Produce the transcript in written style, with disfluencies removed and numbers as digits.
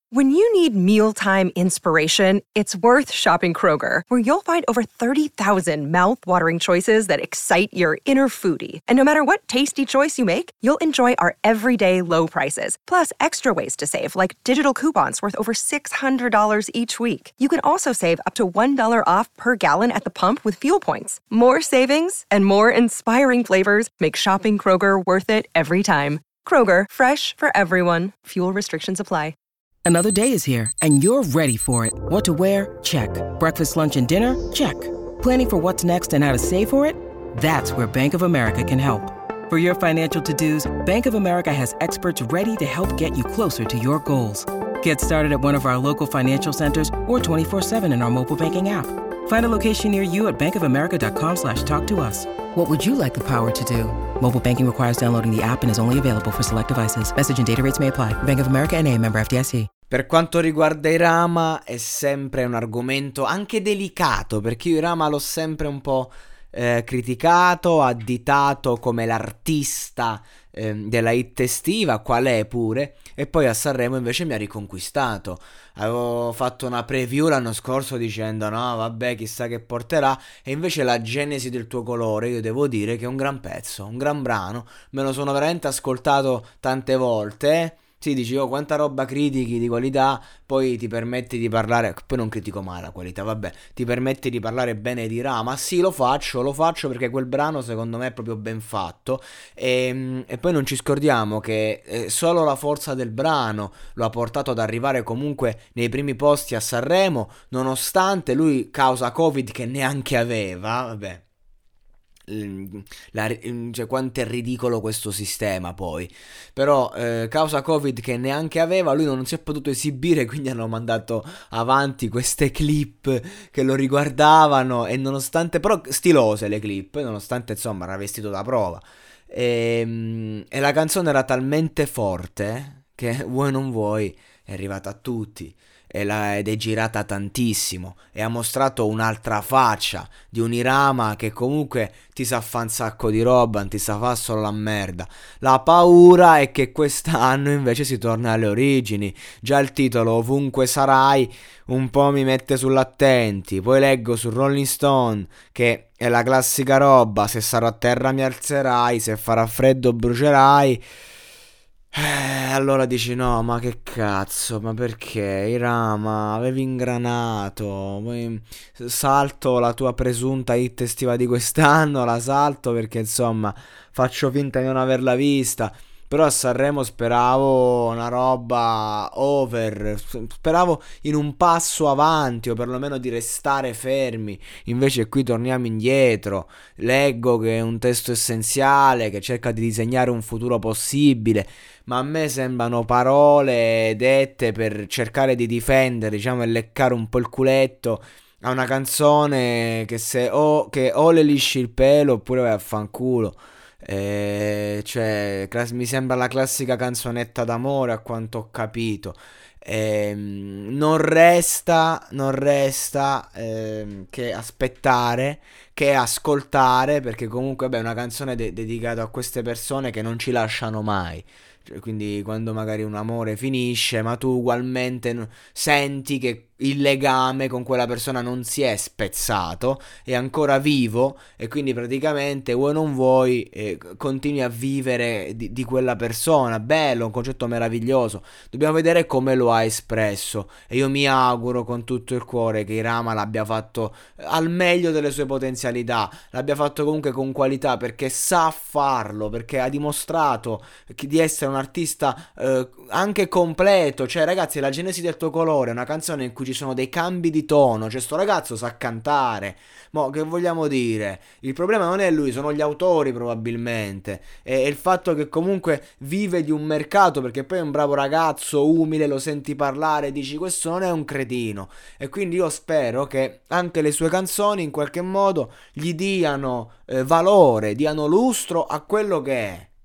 When you need mealtime inspiration, it's worth shopping Kroger, where you'll find over 30,000 mouth-watering choices that excite your inner foodie. And no matter what tasty choice you make, you'll enjoy our everyday low prices, plus extra ways to save, like digital coupons worth over $600 each week. You can also save up to $1 off per gallon at the pump with fuel points. More savings and more inspiring flavors make shopping Kroger worth it every time. Kroger, fresh for everyone. Fuel restrictions apply. Another day is here, and you're ready for it. What to wear? Check. Breakfast, lunch, and dinner? Check. Planning for what's next and how to save for it? That's where Bank of America can help. For your financial to-dos, Bank of America has experts ready to help get you closer to your goals. Get started at one of our local financial centers or 24/7 in our mobile banking app. Find a location near you at bankofamerica.com/talktous. What would you like the power to do? Mobile banking requires downloading the app and is only available for select devices. Message and data rates may apply. Bank of America N.A., member FDIC. Per quanto riguarda Irama è sempre un argomento anche delicato, perché io Irama l'ho sempre un po' criticato, additato come l'artista della hit estiva, qual è pure, e poi a Sanremo invece mi ha riconquistato. Avevo fatto una preview l'anno scorso dicendo no vabbè chissà che porterà, e invece la Genesi del tuo colore io devo dire che è un gran pezzo, un gran brano, me lo sono veramente ascoltato tante volte. Sì, dici, oh, quanta roba critichi di qualità, poi ti permetti di parlare, poi non critico mai la qualità, vabbè, ti permetti di parlare bene di Rama. Sì, lo faccio perché quel brano secondo me è proprio ben fatto, e poi non ci scordiamo che solo la forza del brano lo ha portato ad arrivare comunque nei primi posti a Sanremo, nonostante lui causa Covid che neanche aveva, vabbè. Cioè quanto è ridicolo questo sistema poi, però causa Covid che neanche aveva, lui non si è potuto esibire, quindi hanno mandato avanti queste clip che lo riguardavano, e nonostante, però stilose le clip, nonostante insomma era vestito da prova, e la canzone era talmente forte che vuoi non vuoi è arrivata a tutti. Ed è girata tantissimo e ha mostrato un'altra faccia di un Irama che comunque ti sa fa un sacco di roba, non ti sa fa solo la merda. La paura è che quest'anno invece si torna alle origini. Già il titolo Ovunque sarai un po' mi mette sull'attenti. Poi leggo su Rolling Stone che è la classica roba: se sarò a terra mi alzerai, se farà freddo brucerai. Allora dici no, ma che cazzo, ma perché Irama, avevi ingranato, poi salto la tua presunta hit estiva di quest'anno, la salto perché insomma faccio finta di non averla vista. Però a Sanremo speravo una roba over, speravo in un passo avanti o perlomeno di restare fermi. Invece qui torniamo indietro. Leggo che è un testo essenziale che cerca di disegnare un futuro possibile, ma a me sembrano parole dette per cercare di difendere, diciamo, e leccare un po' il culetto a una canzone che che o le lisci il pelo oppure vai a fanculo. Cioè mi sembra la classica canzonetta d'amore, a quanto ho capito. Non resta che aspettare, che ascoltare, perché comunque è una canzone dedicata a queste persone che non ci lasciano mai. Quindi quando magari un amore finisce, ma tu ugualmente senti che il legame con quella persona non si è spezzato, è ancora vivo, e quindi praticamente vuoi non vuoi continui a vivere di quella persona. Bello, un concetto meraviglioso. Dobbiamo vedere come lo ha espresso, e io mi auguro con tutto il cuore che Irama l'abbia fatto al meglio delle sue potenzialità, l'abbia fatto comunque con qualità, perché sa farlo, perché ha dimostrato di essere un artista anche completo. Cioè ragazzi, La Genesi del tuo colore è una canzone in cui ci sono dei cambi di tono, cioè sto ragazzo sa cantare. Mo che vogliamo dire? Il problema non è lui, sono gli autori probabilmente, è il fatto che comunque vive di un mercato, perché poi è un bravo ragazzo, umile, lo senti parlare, dici questo non è un cretino, e quindi io spero che anche le sue canzoni in qualche modo gli diano valore, diano lustro a quello che è.